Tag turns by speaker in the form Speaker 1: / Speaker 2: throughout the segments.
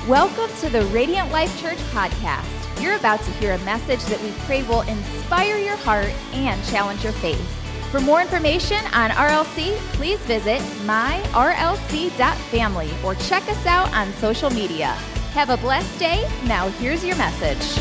Speaker 1: Welcome to the Radiant Life Church podcast. You're about to hear a message that we pray will inspire your heart and challenge your faith. For more information on RLC, please visit myrlc.family or check us out on social media. Have a blessed day. Now here's your message.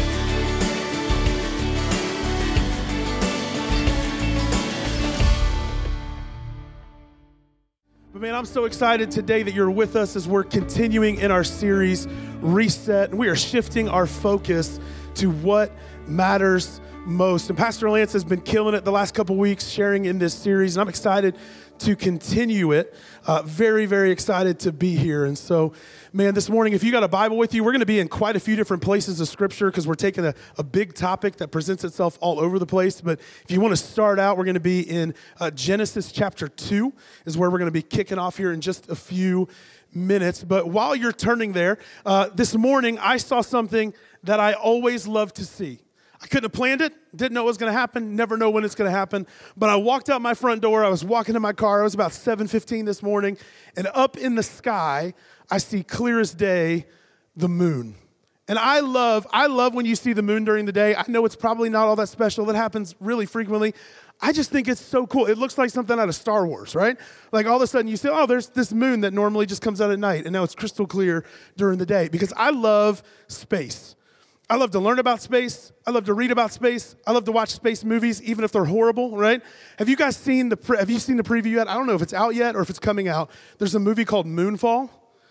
Speaker 2: Man, I'm so excited today that you're with us as we're continuing in our series, Reset. And we are shifting our focus to what matters most. And Pastor Lance has been killing it the last couple weeks sharing in this series. And I'm excited to continue it. Very, very excited to be here. And so, man, this morning, if you got a Bible with you, we're going to be in quite a few different places of Scripture because we're taking a big topic that presents itself all over the place. But if you want to start out, we're going to be in Genesis chapter 2 is where we're going to be kicking off here in just a few minutes. But while you're turning there, this morning, I saw something that I always love to see. I couldn't have planned it, didn't know it was going to happen, never know when it's going to happen. But I walked out my front door, I was walking in my car, it was about 7:15 this morning, and up in the sky, I see clear as day the moon. And I love when you see the moon during the day. I know it's probably not all that special. That happens really frequently. I just think it's so cool. It looks like something out of Star Wars, right? Like all of a sudden you say, oh, there's this moon that normally just comes out at night, and now it's crystal clear during the day because I love space. I love to learn about space. I love to read about space. I love to watch space movies, even if they're horrible, right? Have you guys seen the preview yet? I don't know if it's out yet or if it's coming out. There's a movie called Moonfall.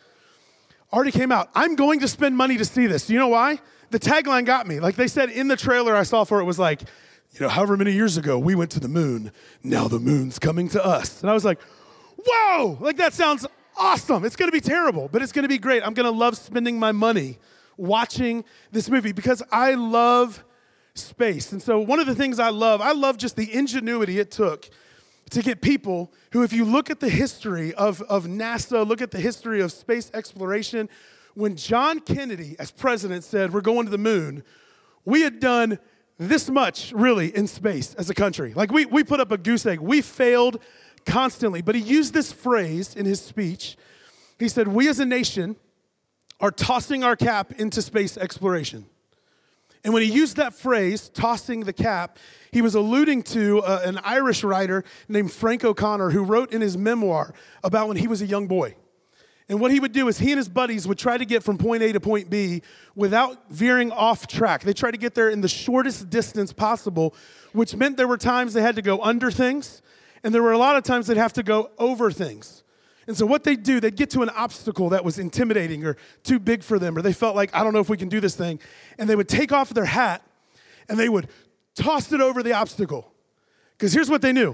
Speaker 2: Already came out. I'm going to spend money to see this. Do you know why? The tagline got me. Like they said in the trailer I saw for it was like, however many years ago we went to the moon. Now the moon's coming to us. And I was like, whoa, like that sounds awesome. It's going to be terrible, but it's going to be great. I'm going to love spending my money watching this movie because I love space. And so one of the things I love just the ingenuity it took to get people who, if you look at the history of NASA, look at the history of space exploration, when John Kennedy as president said, we're going to the moon, we had done this much really in space as a country. Like we put up a goose egg. We failed constantly. But he used this phrase in his speech. He said, we as a nation are tossing our cap into space exploration. And when he used that phrase, tossing the cap, he was alluding to an Irish writer named Frank O'Connor who wrote in his memoir about when he was a young boy. And what he would do is he and his buddies would try to get from point A to point B without veering off track. They tried to get there in the shortest distance possible, which meant there were times they had to go under things, and there were a lot of times they'd have to go over things. And so what they'd do, they'd get to an obstacle that was intimidating or too big for them, or they felt like, I don't know if we can do this thing. And they would take off their hat, and they would toss it over the obstacle. Because here's what they knew.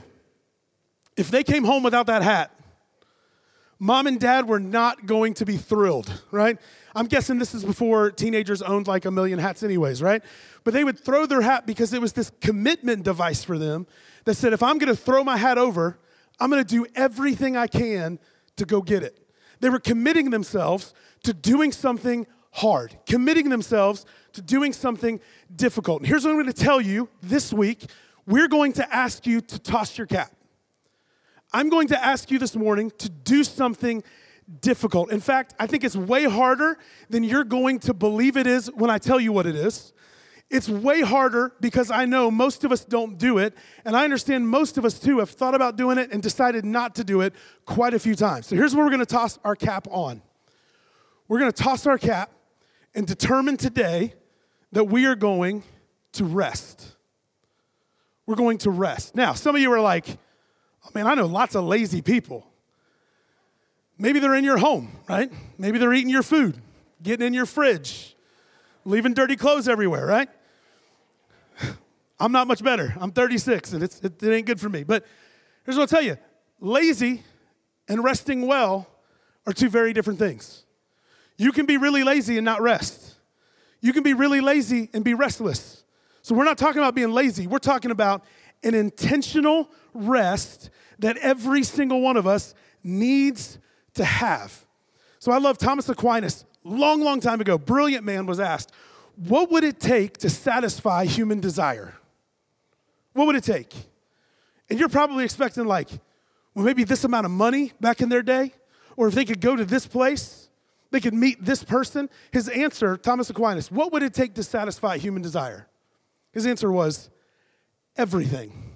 Speaker 2: If they came home without that hat, Mom and Dad were not going to be thrilled, right? I'm guessing this is before teenagers owned like 1 million hats anyways, right? But they would throw their hat because it was this commitment device for them that said, if I'm going to throw my hat over, I'm going to do everything I can to go get it. They were committing themselves to doing something hard, committing themselves to doing something difficult. And here's what I'm going to tell you this week. We're going to ask you to toss your cap. I'm going to ask you this morning to do something difficult. In fact, I think it's way harder than you're going to believe it is when I tell you what it is. It's way harder because I know most of us don't do it, and I understand most of us, too, have thought about doing it and decided not to do it quite a few times. So here's what we're going to toss our cap on. We're going to toss our cap and determine today that we are going to rest. We're going to rest. Now, some of you are like, oh, man, I know lots of lazy people. Maybe they're in your home, right? Maybe they're eating your food, getting in your fridge, leaving dirty clothes everywhere, right? I'm not much better. I'm 36, and it ain't good for me. But here's what I'll tell you. Lazy and resting well are two very different things. You can be really lazy and not rest. You can be really lazy and be restless. So we're not talking about being lazy. We're talking about an intentional rest that every single one of us needs to have. So I love Thomas Aquinas. Long time ago, brilliant man was asked, what would it take to satisfy human desire? What would it take? And you're probably expecting like, well, maybe this amount of money back in their day, or if they could go to this place, They could meet this person. His answer, Thomas Aquinas, what would it take to satisfy human desire? His answer was everything.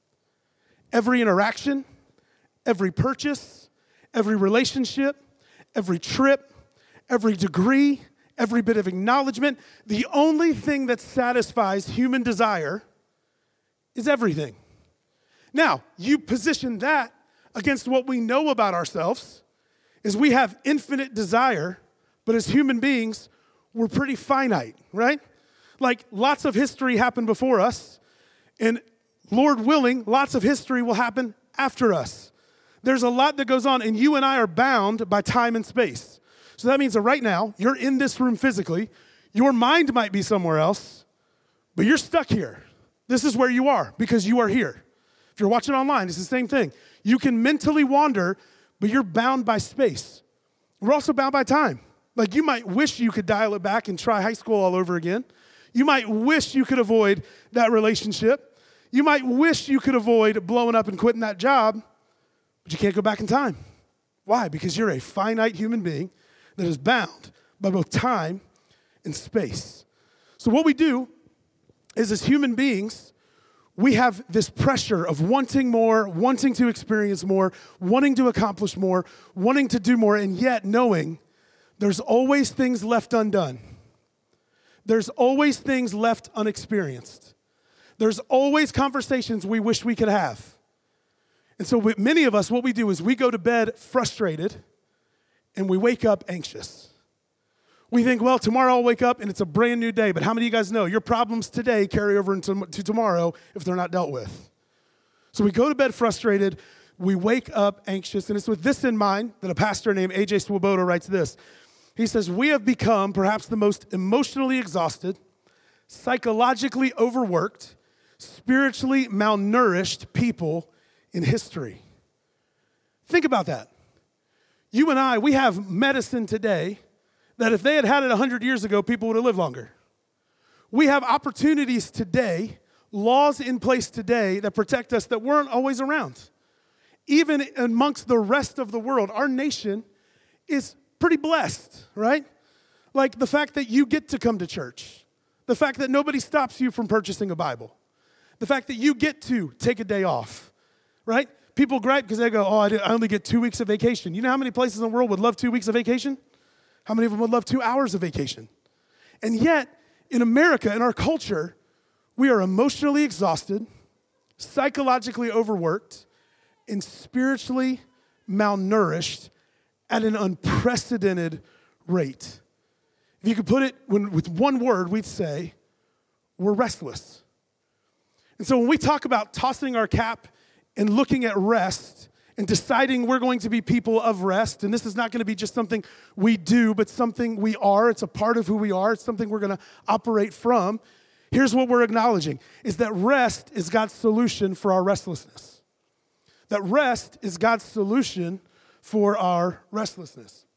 Speaker 2: Every interaction, every purchase, every relationship, every trip, every degree, every bit of acknowledgement. The only thing that satisfies human desire is everything. Now, you position that against what we know about ourselves is we have infinite desire, but as human beings, we're pretty finite, right? Like lots of history happened before us, and Lord willing, lots of history will happen after us. There's a lot that goes on, and you and I are bound by time and space. So that means that right now, you're in this room physically, your mind might be somewhere else, but you're stuck here. This is where you are because you are here. If you're watching online, it's the same thing. You can mentally wander, but you're bound by space. We're also bound by time. Like you might wish you could dial it back and try high school all over again. You might wish you could avoid that relationship. You might wish you could avoid blowing up and quitting that job, but you can't go back in time. Why? Because you're a finite human being that is bound by both time and space. So what we do is as human beings, we have this pressure of wanting more, wanting to experience more, wanting to accomplish more, wanting to do more, and yet knowing there's always things left undone. There's always things left unexperienced. There's always conversations we wish we could have. And so with many of us, what we do is we go to bed frustrated and we wake up anxious. We think, well, tomorrow I'll wake up and it's a brand new day. But how many of you guys know your problems today carry over into tomorrow if they're not dealt with? So we go to bed frustrated, we wake up anxious, and it's with this in mind that a pastor named A.J. Swoboda writes this. He says, we have become perhaps the most emotionally exhausted, psychologically overworked, spiritually malnourished people in history. Think about that. You and I, we have medicine today that if they had had it 100 years ago, people would have lived longer. We have opportunities today, laws in place today that protect us that weren't always around. Even amongst the rest of the world, our nation is pretty blessed, right? Like the fact that you get to come to church, the fact that nobody stops you from purchasing a Bible, the fact that you get to take a day off, right? People gripe because they go, oh, I only get 2 weeks of vacation. You know how many places in the world would love 2 weeks of vacation? How many of them would love 2 hours of vacation? And yet, in America, in our culture, we are emotionally exhausted, psychologically overworked, and spiritually malnourished at an unprecedented rate. If you could put it with one word, we'd say, we're restless. And so when we talk about tossing our cap and looking at rest and deciding we're going to be people of rest, and this is not going to be just something we do, but something we are. It's a part of who we are. It's something we're going to operate from. Here's what we're acknowledging, is that rest is God's solution for our restlessness. That rest is God's solution for our restlessness.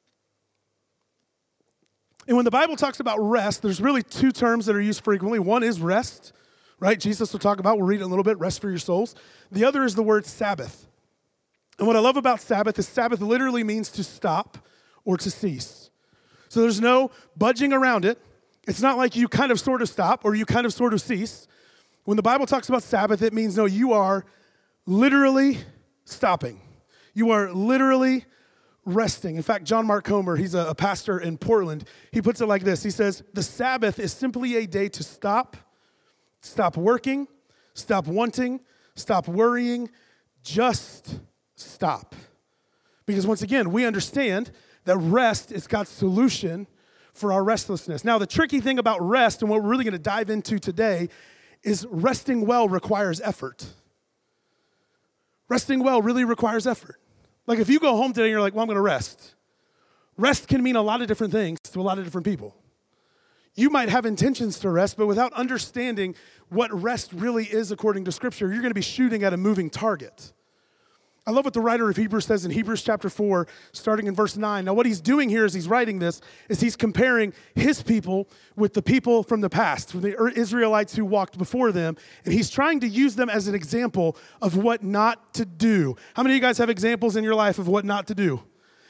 Speaker 2: And when the Bible talks about rest, there's really two terms that are used frequently. One is rest, right? Jesus will talk about, we'll read it in a little bit, rest for your souls. The other is the word Sabbath. And what I love about Sabbath is Sabbath literally means to stop or to cease. So there's no budging around it. It's not like you kind of sort of stop or you kind of sort of cease. When the Bible talks about Sabbath, it means no, you are literally stopping. You are literally resting. In fact, John Mark Comer, he's a pastor in Portland, he puts it like this. He says, the Sabbath is simply a day to stop working, stop wanting, stop worrying, just stop. Because once again, we understand that rest is God's solution for our restlessness. Now, the tricky thing about rest and what we're really going to dive into today is resting well requires effort. Resting well really requires effort. Like if you go home today and you're like, well, I'm going to rest. Rest can mean a lot of different things to a lot of different people. You might have intentions to rest, but without understanding what rest really is according to Scripture, you're going to be shooting at a moving target. I love what the writer of Hebrews says in Hebrews chapter 4, starting in verse 9. Now, what he's doing here as he's writing this is he's comparing his people with the people from the past, from the Israelites who walked before them, and he's trying to use them as an example of what not to do. How many of you guys have examples in your life of what not to do?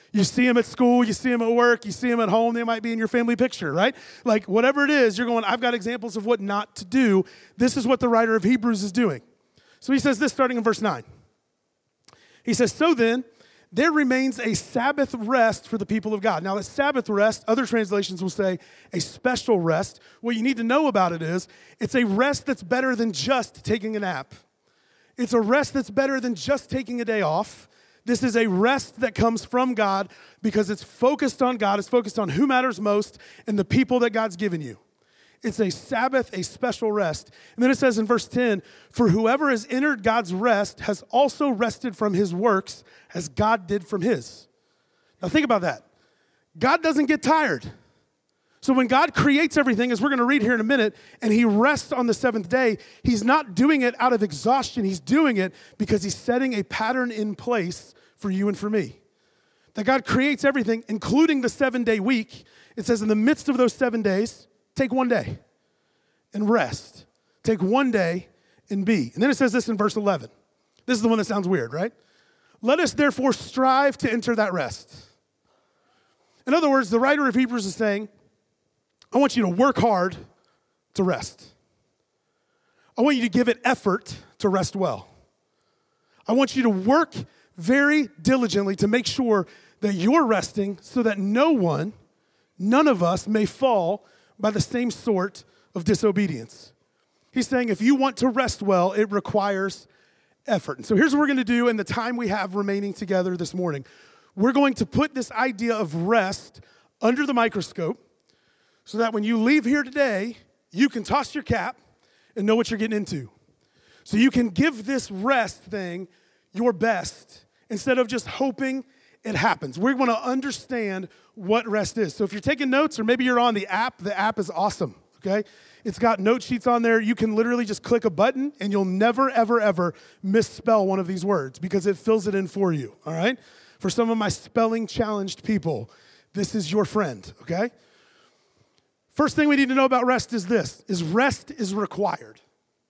Speaker 2: You see them at school, you see them at work, you see them at home, they might be in your family picture, right? Like whatever it is, you're going, I've got examples of what not to do. This is what the writer of Hebrews is doing. So he says this starting in verse 9. He says, so then, there remains a Sabbath rest for the people of God. Now, that Sabbath rest, other translations will say a special rest. What you need to know about it is it's a rest that's better than just taking a nap. It's a rest that's better than just taking a day off. This is a rest that comes from God because it's focused on God. It's focused on who matters most and the people that God's given you. It's a Sabbath, a special rest. And then it says in verse 10, for whoever has entered God's rest has also rested from his works as God did from his. Now think about that. God doesn't get tired. So when God creates everything, as we're going to read here in a minute, and he rests on the seventh day, he's not doing it out of exhaustion. He's doing it because he's setting a pattern in place for you and for me. That God creates everything, including the 7-day week. It says in the midst of those 7 days, take one day and rest. Take one day and be. And then it says this in verse 11. This is the one that sounds weird, right? Let us therefore strive to enter that rest. In other words, the writer of Hebrews is saying, I want you to work hard to rest. I want you to give it effort to rest well. I want you to work very diligently to make sure that you're resting so that none of us may fall by the same sort of disobedience. He's saying if you want to rest well, it requires effort. And so here's what we're going to do in the time we have remaining together this morning. We're going to put this idea of rest under the microscope so that when you leave here today, you can toss your cap and know what you're getting into. So you can give this rest thing your best instead of just hoping it happens. We're going to understand what rest is. So if you're taking notes or maybe you're on the app is awesome, okay? It's got note sheets on there. You can literally just click a button and you'll never, ever, ever misspell one of these words because it fills it in for you, all right? For some of my spelling challenged people, this is your friend, okay? First thing we need to know about rest is this, is rest is required.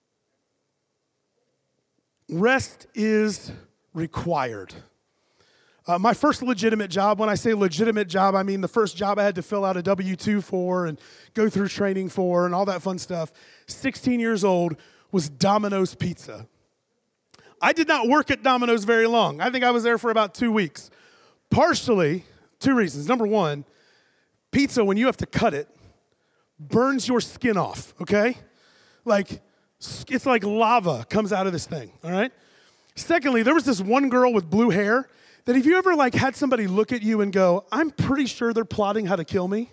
Speaker 2: Rest is required. My first legitimate job, when I say legitimate job, I mean the first job I had to fill out a W-2 for and go through training for and all that fun stuff, 16 years old, was Domino's Pizza. I did not work at Domino's very long. I think I was there for about 2 weeks. Partially, 2 reasons. Number one, pizza, when you have to cut it, burns your skin off, okay? Like, it's like lava comes out of this thing, all right? Secondly, there was this one girl with blue hair that if you ever like had somebody look at you and go, I'm pretty sure they're plotting how to kill me.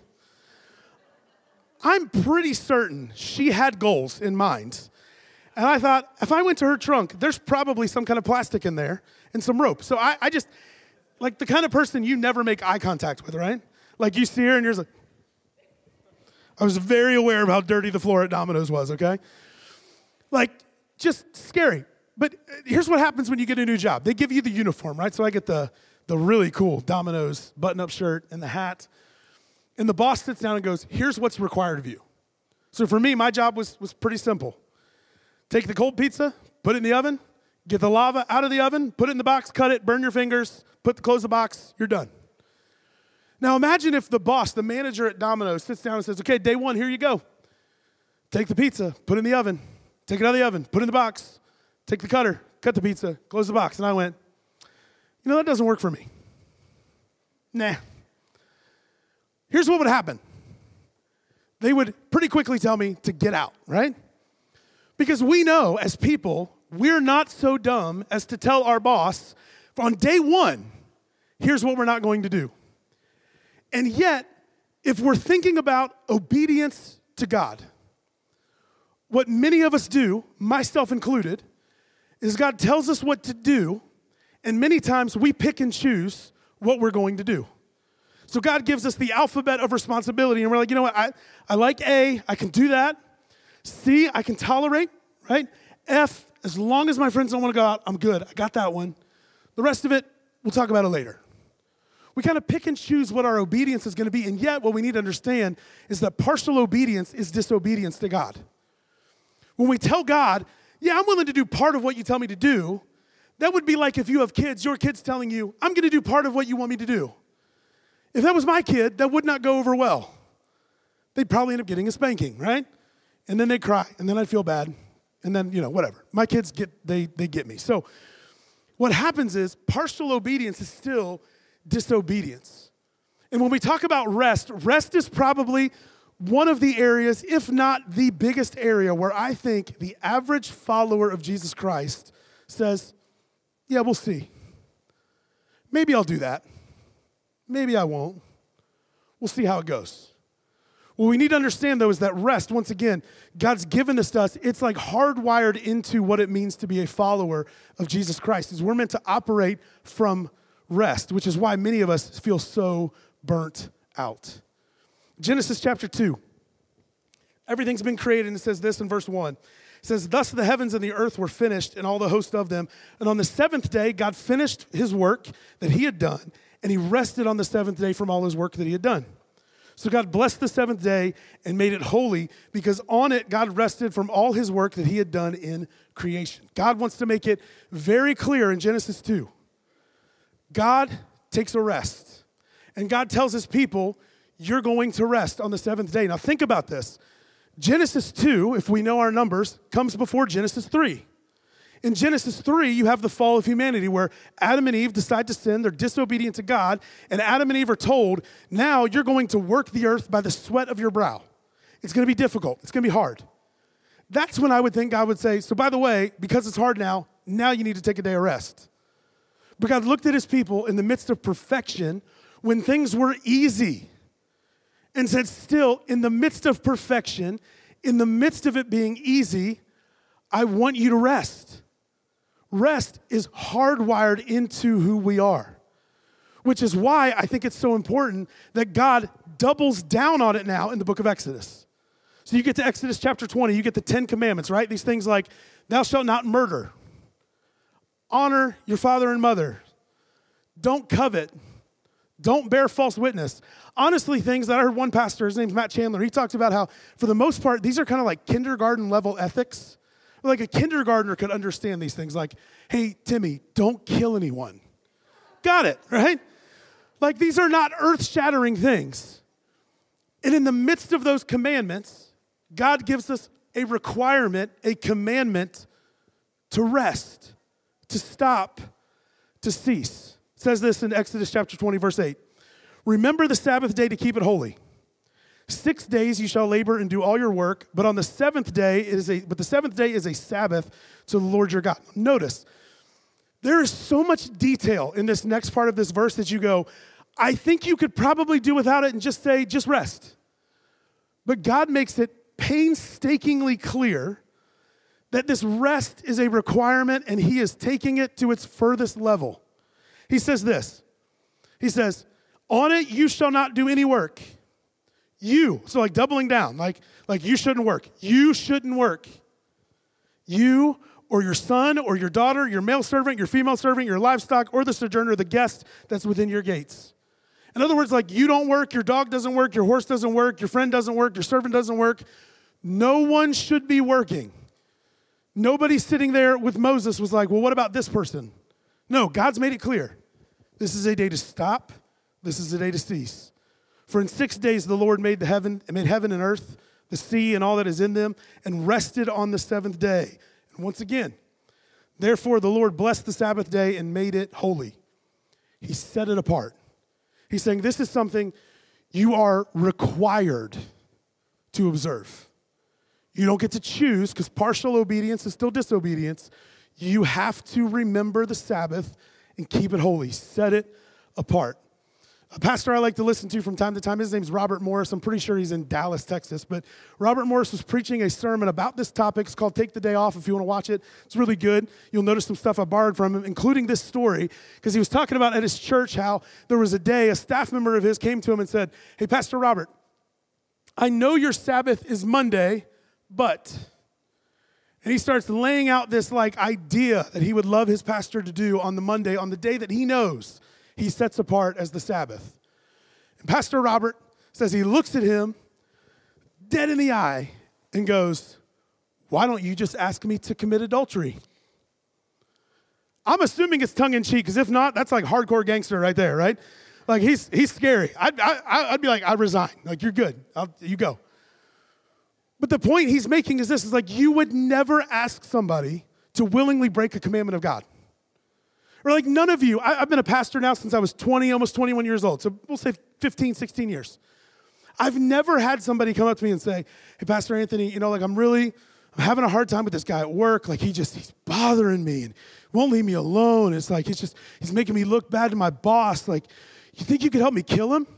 Speaker 2: I'm pretty certain she had goals in mind. And I thought, if I went to her trunk, there's probably some kind of plastic in there and some rope. So I just, like the kind of person you never make eye contact with, right? Like you see her and you're just like, I was very aware of how dirty the floor at Domino's was, okay? Like, just scary. But here's what happens when you get a new job. They give you the uniform, right? So I get the really cool Domino's button-up shirt and the hat. And the boss sits down and goes, here's what's required of you. So for me, my job was pretty simple. Take the cold pizza, put it in the oven, get the lava out of the oven, put it in the box, cut it, burn your fingers, close the box, you're done. Now imagine if the boss, the manager at Domino's, sits down and says, okay, day one, here you go. Take the pizza, put it in the oven, take it out of the oven, put it in the box, take the cutter, cut the pizza, close the box. And I went, you know, that doesn't work for me. Nah. Here's what would happen. They would pretty quickly tell me to get out, right? Because we know as people, we're not so dumb as to tell our boss on day one, here's what we're not going to do. And yet, if we're thinking about obedience to God, what many of us do, myself included, is God tells us what to do, and many times we pick and choose what we're going to do. So God gives us the alphabet of responsibility, and we're like, you know what, I like A, I can do that. C, I can tolerate, right? F, as long as my friends don't want to go out, I'm good. I got that one. The rest of it, we'll talk about it later. We kind of pick and choose what our obedience is going to be, and yet what we need to understand is that partial obedience is disobedience to God. When we tell God, yeah, I'm willing to do part of what you tell me to do, that would be like if you have kids, your kid's telling you, I'm going to do part of what you want me to do. If that was my kid, that would not go over well. They'd probably end up getting a spanking, right? And then they'd cry, and then I'd feel bad, and then, whatever. My kids they get me. So what happens is partial obedience is still disobedience. And when we talk about rest is probably one of the areas, if not the biggest area, where I think the average follower of Jesus Christ says, yeah, we'll see. Maybe I'll do that. Maybe I won't. We'll see how it goes. What we need to understand, though, is that rest, once again, God's given this to us. It's like hardwired into what it means to be a follower of Jesus Christ. Is we're meant to operate from rest, which is why many of us feel so burnt out. Genesis chapter 2. Everything's been created, and it says this in verse 1. It says, thus the heavens and the earth were finished, and all the host of them. And on the seventh day, God finished his work that he had done, and he rested on the seventh day from all his work that he had done. So God blessed the seventh day and made it holy, because on it God rested from all his work that he had done in creation. God wants to make it very clear in Genesis 2. God takes a rest, and God tells his people, you're going to rest on the seventh day. Now think about this. Genesis 2, if we know our numbers, comes before Genesis 3. In Genesis 3, you have the fall of humanity where Adam and Eve decide to sin. They're disobedient to God. And Adam and Eve are told, now you're going to work the earth by the sweat of your brow. It's going to be difficult. It's going to be hard. That's when I would think God would say, so by the way, because it's hard now you need to take a day of rest. But God looked at his people in the midst of perfection when things were easy and said, still, in the midst of perfection, in the midst of it being easy, I want you to rest. Rest is hardwired into who we are, which is why I think it's so important that God doubles down on it now in the book of Exodus. So you get to Exodus chapter 20, you get the 10 commandments, right? These things like, thou shalt not murder, honor your father and mother, don't covet, don't bear false witness. Honestly, things that I heard one pastor, his name's Matt Chandler, he talks about how, for the most part, these are kind of like kindergarten level ethics. Like a kindergartner could understand these things like, hey, Timmy, don't kill anyone. Got it, right? Like these are not earth-shattering things. And in the midst of those commandments, God gives us a requirement, a commandment to rest, to stop, to cease. It says this in Exodus chapter 20, verse 8. Remember the Sabbath day to keep it holy. 6 days you shall labor and do all your work, but the seventh day is a Sabbath to the Lord your God. Notice, there is so much detail in this next part of this verse that you go, I think you could probably do without it and just say, just rest. But God makes it painstakingly clear that this rest is a requirement and he is taking it to its furthest level. He says this, he says, on it you shall not do any work. So like doubling down, like you shouldn't work. You shouldn't work. You or your son or your daughter, your male servant, your female servant, your livestock, or the sojourner, the guest that's within your gates. In other words, like you don't work, your dog doesn't work, your horse doesn't work, your friend doesn't work, your servant doesn't work. No one should be working. Nobody sitting there with Moses was like, well, what about this person? No, God's made it clear. This is a day to stop. This is a day to cease. For in 6 days the Lord made heaven and earth, the sea and all that is in them, and rested on the seventh day. And once again, therefore the Lord blessed the Sabbath day and made it holy. He set it apart. He's saying this is something you are required to observe. You don't get to choose because partial obedience is still disobedience. You have to remember the Sabbath and keep it holy. Set it apart. A pastor I like to listen to from time to time, his name's Robert Morris. I'm pretty sure he's in Dallas, Texas. But Robert Morris was preaching a sermon about this topic. It's called Take the Day Off if you want to watch it. It's really good. You'll notice some stuff I borrowed from him, including this story, because he was talking about at his church how there was a day a staff member of his came to him and said, hey, Pastor Robert, I know your Sabbath is Monday, but... And he starts laying out this like idea that he would love his pastor to do on the Monday, on the day that he knows he sets apart as the Sabbath. And Pastor Robert says he looks at him dead in the eye and goes, why don't you just ask me to commit adultery? I'm assuming it's tongue-in-cheek, because if not, that's like hardcore gangster right there, right? Like, he's scary. I'd be like, I resign. Like, you're good. You go. But the point he's making is this, is like, you would never ask somebody to willingly break a commandment of God. Or like, none of you, I've been a pastor now since I was 20, almost 21 years old. So we'll say 15, 16 years. I've never had somebody come up to me and say, hey, Pastor Anthony, like, I'm having a hard time with this guy at work. Like, he's bothering me and won't leave me alone. It's like, he's making me look bad to my boss. Like, you think you could help me kill him?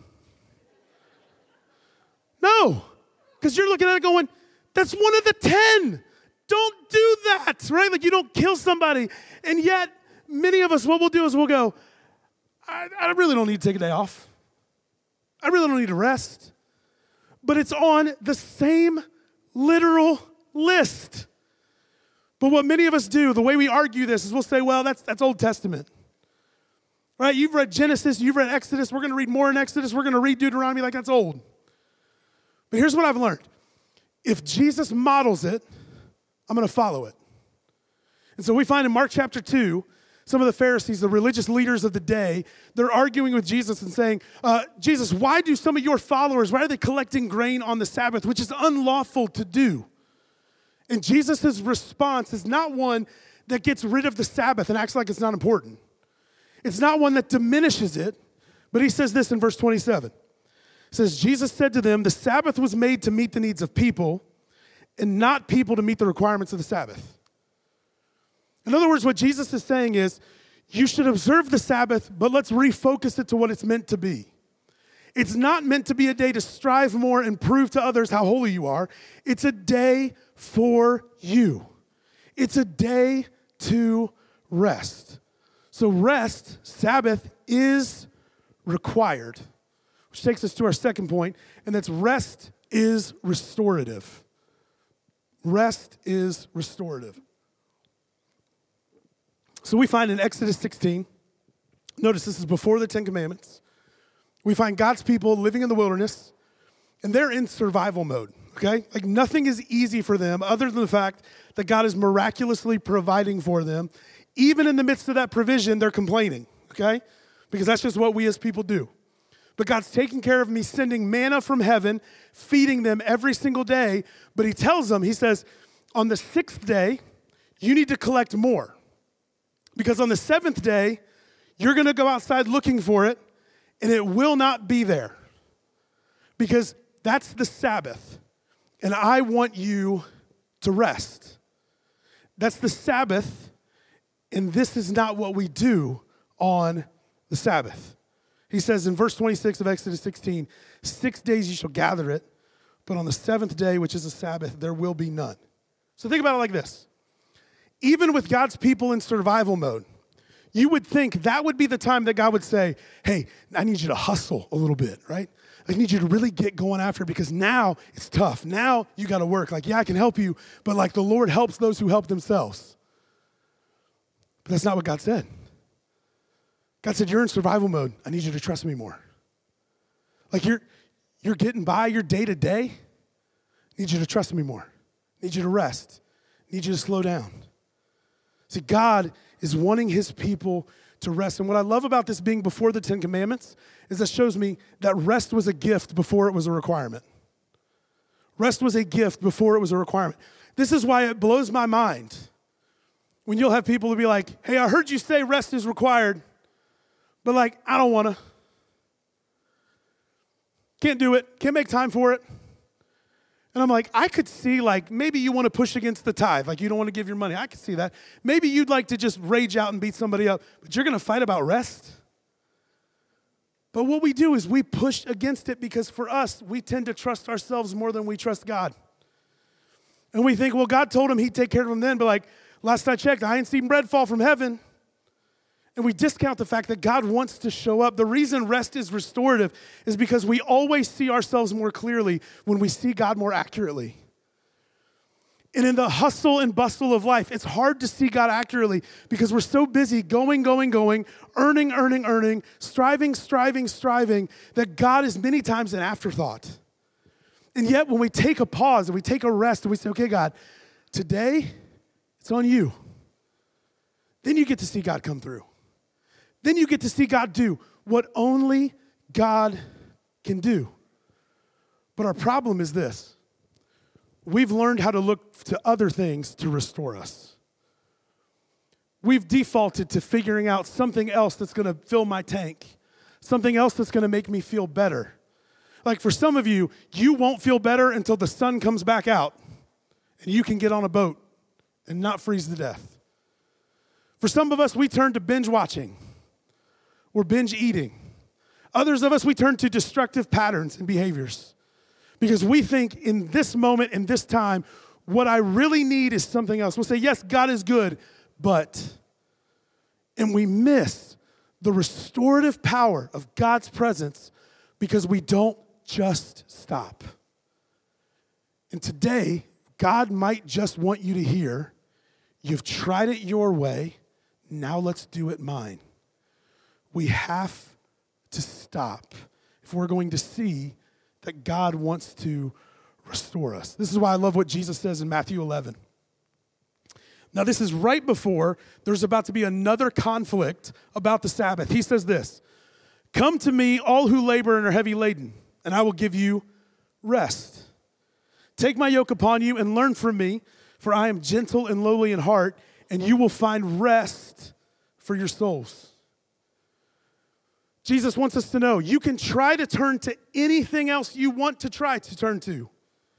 Speaker 2: No, because you're looking at it going, that's one of the 10. Don't do that, right? Like, you don't kill somebody. And yet, many of us, what we'll do is we'll go, I really don't need to take a day off. I really don't need to rest. But it's on the same literal list. But what many of us do, the way we argue this is we'll say, well, that's Old Testament. Right? You've read Genesis, you've read Exodus, we're going to read more in Exodus, we're going to read Deuteronomy, like that's old. But here's what I've learned. If Jesus models it, I'm going to follow it. And so we find in Mark chapter 2, some of the Pharisees, the religious leaders of the day, they're arguing with Jesus and saying, Jesus, why do some of your followers, why are they collecting grain on the Sabbath, which is unlawful to do? And Jesus' response is not one that gets rid of the Sabbath and acts like it's not important. It's not one that diminishes it, but he says this in verse 27. It says, Jesus said to them, the Sabbath was made to meet the needs of people and not people to meet the requirements of the Sabbath. In other words, what Jesus is saying is, you should observe the Sabbath, but let's refocus it to what it's meant to be. It's not meant to be a day to strive more and prove to others how holy you are. It's a day for you. It's a day to rest. So rest, Sabbath, is required. Which takes us to our second point, and that's rest is restorative. Rest is restorative. So we find in Exodus 16, notice this is before the Ten Commandments, we find God's people living in the wilderness, and they're in survival mode, okay? Like nothing is easy for them other than the fact that God is miraculously providing for them. Even in the midst of that provision, they're complaining, okay? Because that's just what we as people do. But God's taking care of me, sending manna from heaven, feeding them every single day. But he tells them, he says, on the 6th day, you need to collect more. Because on the 7th day, you're going to go outside looking for it, and it will not be there. Because that's the Sabbath, and I want you to rest. That's the Sabbath, and this is not what we do on the Sabbath. He says in verse 26 of Exodus 16, 6 days you shall gather it, but on the 7th day, which is a Sabbath, there will be none. So think about it like this. Even with God's people in survival mode, you would think that would be the time that God would say, hey, I need you to hustle a little bit, right? I need you to really get going after it because now it's tough. Now you got to work. Like, yeah, I can help you, but like the Lord helps those who help themselves. But that's not what God said. God said, you're in survival mode. I need you to trust me more. Like you're getting by your day to day. I need you to trust me more. I need you to rest. I need you to slow down. See, God is wanting his people to rest. And what I love about this being before the Ten Commandments is that shows me that rest was a gift before it was a requirement. Rest was a gift before it was a requirement. This is why it blows my mind when you'll have people who be like, hey, I heard you say rest is required, but like, I don't want to. Can't do it. Can't make time for it. And I'm like, I could see like, maybe you want to push against the tithe. Like you don't want to give your money. I could see that. Maybe you'd like to just rage out and beat somebody up, but you're going to fight about rest? But what we do is we push against it because for us, we tend to trust ourselves more than we trust God. And we think, well, God told him he'd take care of him then, but like, last I checked, I ain't seen bread fall from heaven. And we discount the fact that God wants to show up. The reason rest is restorative is because we always see ourselves more clearly when we see God more accurately. And in the hustle and bustle of life, it's hard to see God accurately because we're so busy going, earning, striving, that God is many times an afterthought. And yet when we take a pause and we take a rest and we say, okay, God, today it's on you. Then you get to see God come through. Then you get to see God do what only God can do. But our problem is this. We've learned how to look to other things to restore us. We've defaulted to figuring out something else that's going to fill my tank, something else that's going to make me feel better. Like for some of you, you won't feel better until the sun comes back out and you can get on a boat and not freeze to death. For some of us, we turn to binge watching or binge eating. Others of us, we turn to destructive patterns and behaviors because we think in this moment, in this time, what I really need is something else. We'll say, yes, God is good, and we miss the restorative power of God's presence because we don't just stop. And today, God might just want you to hear, you've tried it your way, now let's do it mine. We have to stop if we're going to see that God wants to restore us. This is why I love what Jesus says in Matthew 11. Now, this is right before there's about to be another conflict about the Sabbath. He says this, "Come to me, all who labor and are heavy laden, and I will give you rest. Take my yoke upon you and learn from me, for I am gentle and lowly in heart, and you will find rest for your souls." Jesus wants us to know you can try to turn to anything else you want to try to turn to.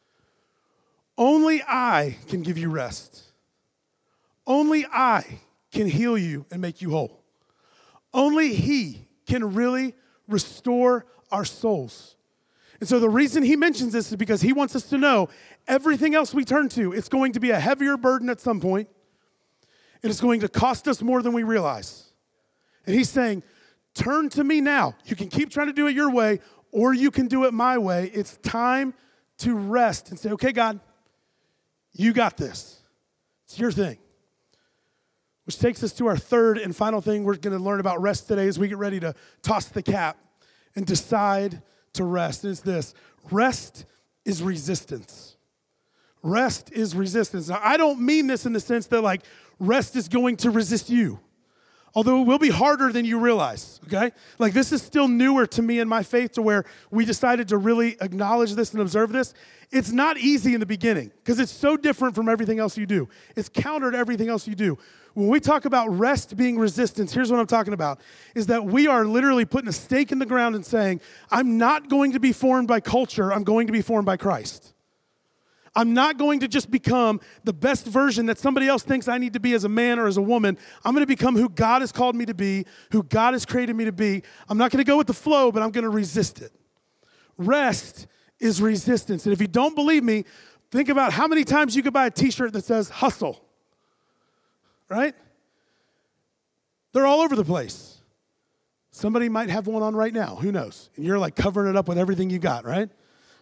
Speaker 2: Only I can give you rest. Only I can heal you and make you whole. Only He can really restore our souls. And so the reason He mentions this is because He wants us to know everything else we turn to, it's going to be a heavier burden at some point, and it's going to cost us more than we realize. And He's saying, turn to me now. You can keep trying to do it your way, or you can do it my way. It's time to rest and say, okay, God, you got this. It's your thing. Which takes us to our third and final thing we're going to learn about rest today as we get ready to toss the cap and decide to rest. And it's this: rest is resistance. Rest is resistance. Now, I don't mean this in the sense that like rest is going to resist you. Although it will be harder than you realize, okay? Like this is still newer to me in my faith to where we decided to really acknowledge this and observe this. It's not easy in the beginning because it's so different from everything else you do. It's counter to everything else you do. When we talk about rest being resistance, here's what I'm talking about, is that we are literally putting a stake in the ground and saying, I'm not going to be formed by culture, I'm going to be formed by Christ. I'm not going to just become the best version that somebody else thinks I need to be as a man or as a woman. I'm going to become who God has called me to be, who God has created me to be. I'm not going to go with the flow, but I'm going to resist it. Rest is resistance. And if you don't believe me, think about how many times you could buy a t-shirt that says hustle, right? They're all over the place. Somebody might have one on right now. Who knows? And you're like covering it up with everything you got, right?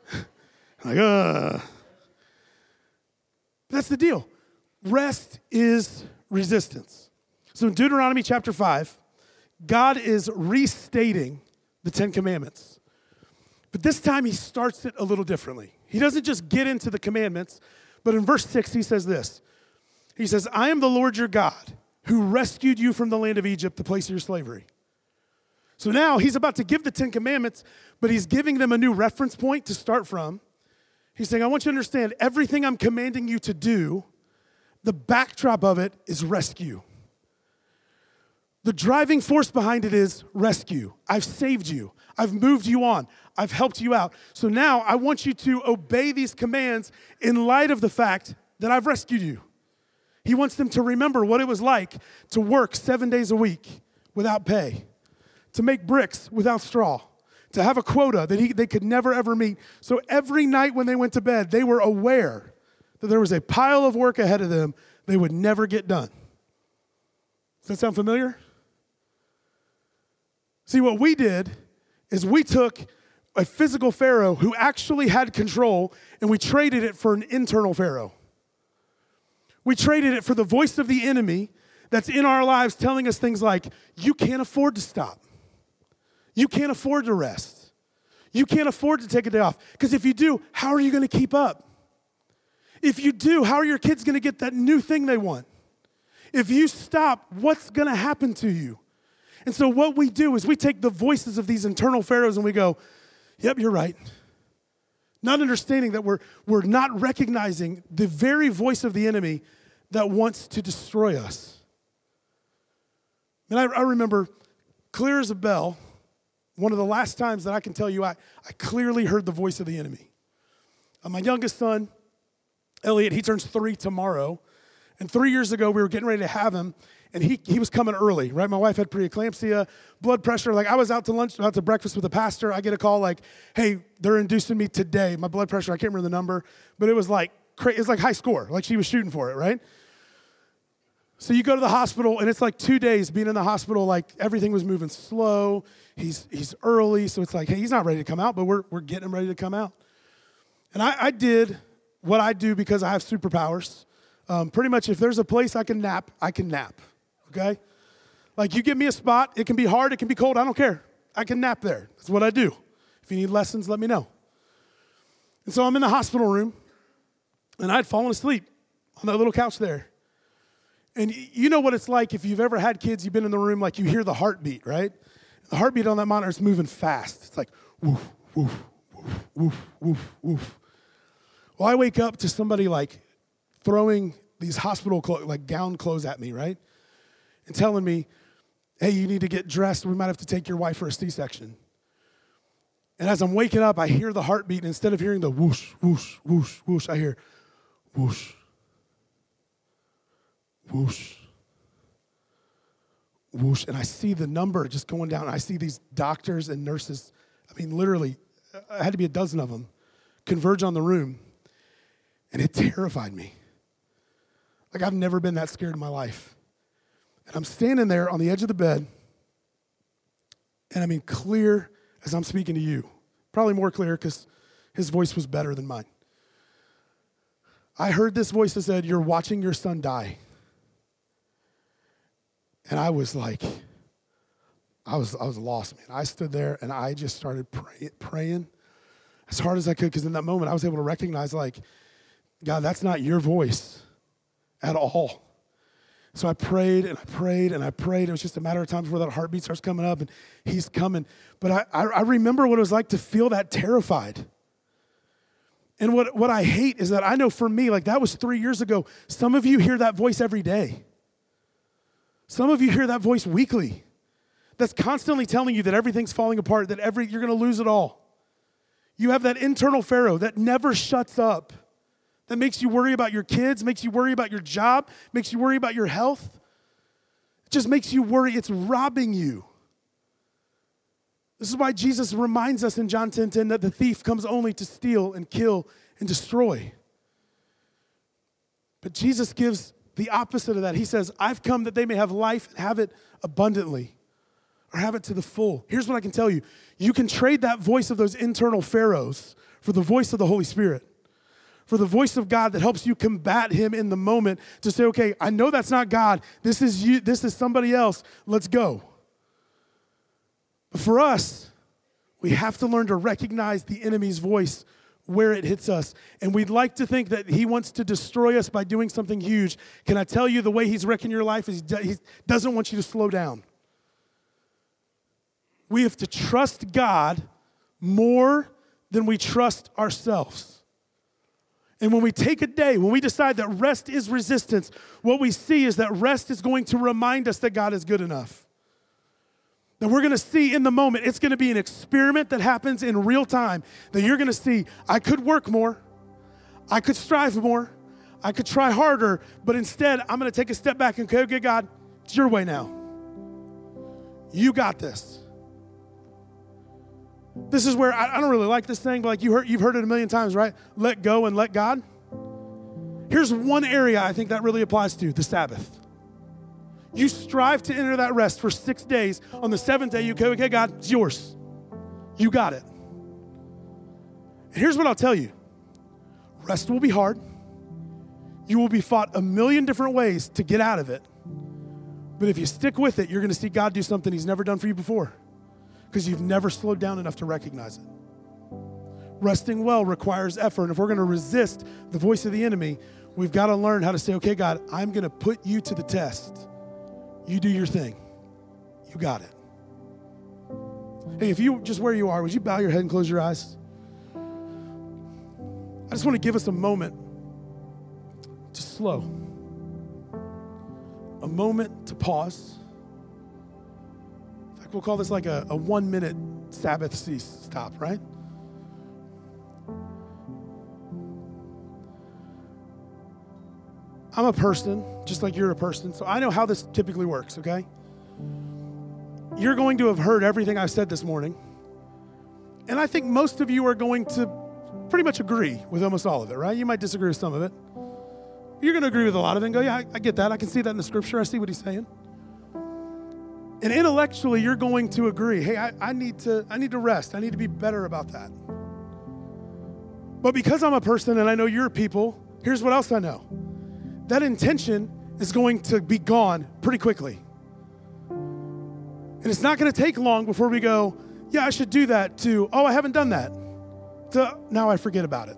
Speaker 2: Like, That's the deal. Rest is resistance. So in Deuteronomy chapter 5, God is restating the Ten Commandments. But this time He starts it a little differently. He doesn't just get into the commandments, but in verse 6 He says this. He says, I am the Lord your God who rescued you from the land of Egypt, the place of your slavery. So now He's about to give the Ten Commandments, but He's giving them a new reference point to start from. He's saying, I want you to understand everything I'm commanding you to do, the backdrop of it is rescue. The driving force behind it is rescue. I've saved you. I've moved you on. I've helped you out. So now I want you to obey these commands in light of the fact that I've rescued you. He wants them to remember what it was like to work 7 days a week without pay, to make bricks without straw, to have a quota that they could never, ever meet. So every night when they went to bed, they were aware that there was a pile of work ahead of them they would never get done. Does that sound familiar? See, what we did is we took a physical Pharaoh who actually had control and we traded it for an internal Pharaoh. We traded it for the voice of the enemy that's in our lives telling us things like, you can't afford to stop. You can't afford to rest. You can't afford to take a day off. Because if you do, how are you going to keep up? If you do, how are your kids going to get that new thing they want? If you stop, what's going to happen to you? And so what we do is we take the voices of these internal pharaohs and we go, yep, you're right. Not understanding that we're not recognizing the very voice of the enemy that wants to destroy us. And I remember clear as a bell, one of the last times that I can tell you I clearly heard the voice of the enemy. My youngest son, Elliot, he turns 3 tomorrow. And 3 years ago, we were getting ready to have him, and he was coming early, right? My wife had preeclampsia, blood pressure. Like, I was out to breakfast with the pastor. I get a call like, hey, they're inducing me today. My blood pressure, I can't remember the number, but it was like high score. Like, she was shooting for it, right? So you go to the hospital, and it's like 2 days being in the hospital. Like, everything was moving slow. He's early, so it's like, hey, he's not ready to come out, but we're getting him ready to come out. And I did what I do because I have superpowers. Pretty much if there's a place I can nap, okay? Like, you give me a spot, it can be hard, it can be cold, I don't care. I can nap there. That's what I do. If you need lessons, let me know. And so I'm in the hospital room, and I'd fallen asleep on that little couch there. And you know what it's like if you've ever had kids, you've been in the room, like you hear the heartbeat, right? The heartbeat on that monitor is moving fast. It's like, woof, woof, woof, woof, woof, woof. Well, I wake up to somebody like throwing these hospital gown clothes at me, right? And telling me, hey, you need to get dressed. We might have to take your wife for a C-section. And as I'm waking up, I hear the heartbeat. And instead of hearing the whoosh, whoosh, whoosh, whoosh, I hear whoosh, whoosh, whoosh. And I see the number just going down. I see these doctors and nurses. I mean, literally, I had to be a dozen of them converge on the room. And it terrified me. Like, I've never been that scared in my life. And I'm standing there on the edge of the bed, and I mean clear as I'm speaking to you. Probably more clear because his voice was better than mine. I heard this voice that said, you're watching your son die. And I was like, I was lost, man. I stood there, and I just started praying as hard as I could, because in that moment, I was able to recognize, like, God, that's not your voice at all. So I prayed and I prayed and I prayed. It was just a matter of time before that heartbeat starts coming up, and he's coming. But I remember what it was like to feel that terrified. And what I hate is that I know for me, like, that was 3 years ago. Some of you hear that voice every day. Some of you hear that voice weekly. That's constantly telling you that everything's falling apart, that you're going to lose it all. You have that internal Pharaoh that never shuts up. That makes you worry about your kids, makes you worry about your job, makes you worry about your health. It just makes you worry. It's robbing you. This is why Jesus reminds us in John 10:10 that the thief comes only to steal and kill and destroy. But Jesus gives the opposite of that. He says, I've come that they may have life and have it abundantly, or have it to the full. Here's what I can tell you. You can trade that voice of those internal pharaohs for the voice of the Holy Spirit, for the voice of God that helps you combat him in the moment, to say, okay, I know that's not God. This is you. This is somebody else. Let's go. But for us, we have to learn to recognize the enemy's voice where it hits us. And we'd like to think that he wants to destroy us by doing something huge. Can I tell you, the way he's wrecking your life is he doesn't want you to slow down. We have to trust God more than we trust ourselves. And when we take a day, when we decide that rest is resistance, what we see is that rest is going to remind us that God is good enough. That we're going to see in the moment, it's going to be an experiment that happens in real time, that you're going to see, I could work more, I could strive more, I could try harder, but instead, I'm going to take a step back and go, okay, God, it's your way now. You got this. This is where I don't really like this thing, but like you've heard it a million times, right? Let go and let God. Here's one area I think that really applies to, the Sabbath. You strive to enter that rest for 6 days. On the 7th day, you go, okay, God, it's yours. You got it. And here's what I'll tell you. Rest will be hard. You will be fought a million different ways to get out of it. But if you stick with it, you're going to see God do something he's never done for you before, because you've never slowed down enough to recognize it. Resting well requires effort. And if we're going to resist the voice of the enemy, we've got to learn how to say, okay, God, I'm going to put you to the test. You do your thing. You got it. Hey, if you just where you are, would you bow your head and close your eyes? I just want to give us a moment to slow, a moment to pause. In fact, we'll call this like a 1 minute Sabbath stop, right? I'm a person, just like you're a person, so I know how this typically works, okay? You're going to have heard everything I've said this morning, and I think most of you are going to pretty much agree with almost all of it, right? You might disagree with some of it. You're going to agree with a lot of it and go, yeah, I get that. I can see that in the scripture. I see what he's saying. And intellectually, you're going to agree, hey, I need to rest. I need to be better about that. But because I'm a person and I know you're people, here's what else I know. That intention is going to be gone pretty quickly. And it's not going to take long before we go, yeah, I should do that, to, oh, I haven't done that, to now I forget about it.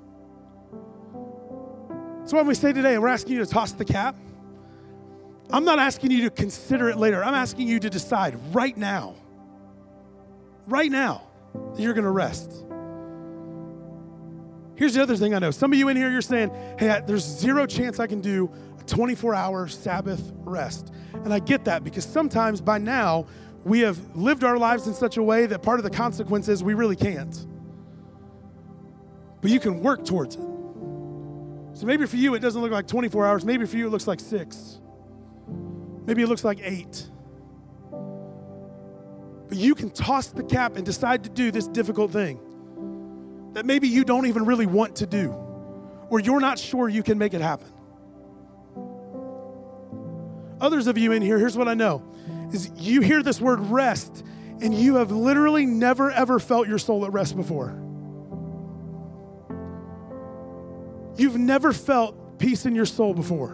Speaker 2: So when we say today, we're asking you to toss the cap. I'm not asking you to consider it later. I'm asking you to decide right now that you're going to rest. Here's the other thing I know. Some of you in here, you're saying, hey, there's zero chance I can do a 24-hour Sabbath rest. And I get that because sometimes by now, we have lived our lives in such a way that part of the consequence is we really can't. But you can work towards it. So maybe for you, it doesn't look like 24 hours. Maybe for you, it looks like 6. Maybe it looks like 8. But you can toss the cap and decide to do this difficult thing that maybe you don't even really want to do, or you're not sure you can make it happen. Others of you in here, here's what I know, is you hear this word rest, and you have literally never, ever felt your soul at rest before. You've never felt peace in your soul before.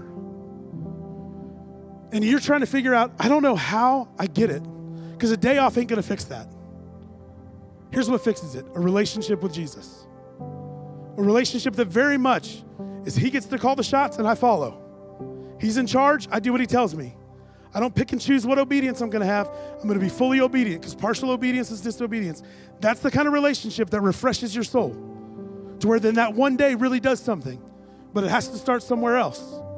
Speaker 2: And you're trying to figure out, I don't know how I get it, because a day off ain't going to fix that. Here's what fixes it: a relationship with Jesus. A relationship that very much is he gets to call the shots and I follow. He's in charge, I do what he tells me. I don't pick and choose what obedience I'm going to have. I'm going to be fully obedient because partial obedience is disobedience. That's the kind of relationship that refreshes your soul to where then that one day really does something, but it has to start somewhere else.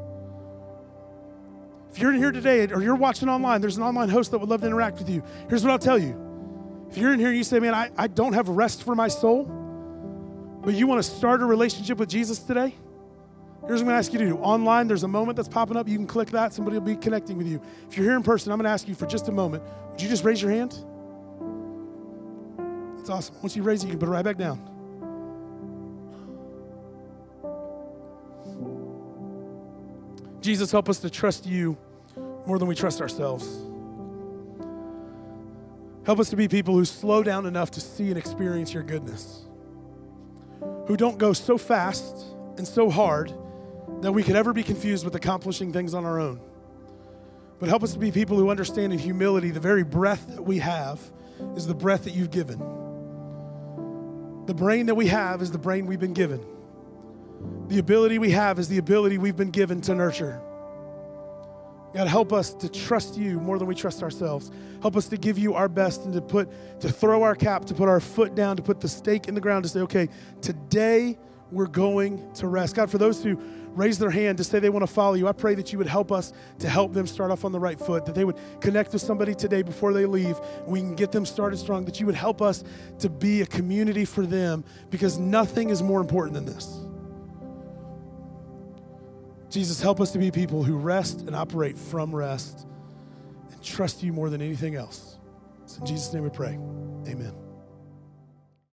Speaker 2: If you're in here today or you're watching online, there's an online host that would love to interact with you. Here's what I'll tell you. If you're in here and you say, man, I don't have rest for my soul, but you want to start a relationship with Jesus today, here's what I'm going to ask you to do. Online, there's a moment that's popping up. You can click that. Somebody will be connecting with you. If you're here in person, I'm going to ask you for just a moment. Would you just raise your hand? That's awesome. Once you raise it, you can put it right back down. Jesus, help us to trust you more than we trust ourselves. Help us to be people who slow down enough to see and experience your goodness, who don't go so fast and so hard that we could ever be confused with accomplishing things on our own. But help us to be people who understand in humility the very breath that we have is the breath that you've given. The brain that we have is the brain we've been given. The ability we have is the ability we've been given to nurture. God, help us to trust you more than we trust ourselves. Help us to give you our best and to throw our cap, to put our foot down, to put the stake in the ground, to say, okay, today we're going to rest. God, for those who raise their hand to say they want to follow you, I pray that you would help us to help them start off on the right foot, that they would connect with somebody today before they leave. We can get them started strong, that you would help us to be a community for them, because nothing is more important than this. Jesus, help us to be people who rest and operate from rest and trust you more than anything else. So in Jesus' name we pray. Amen.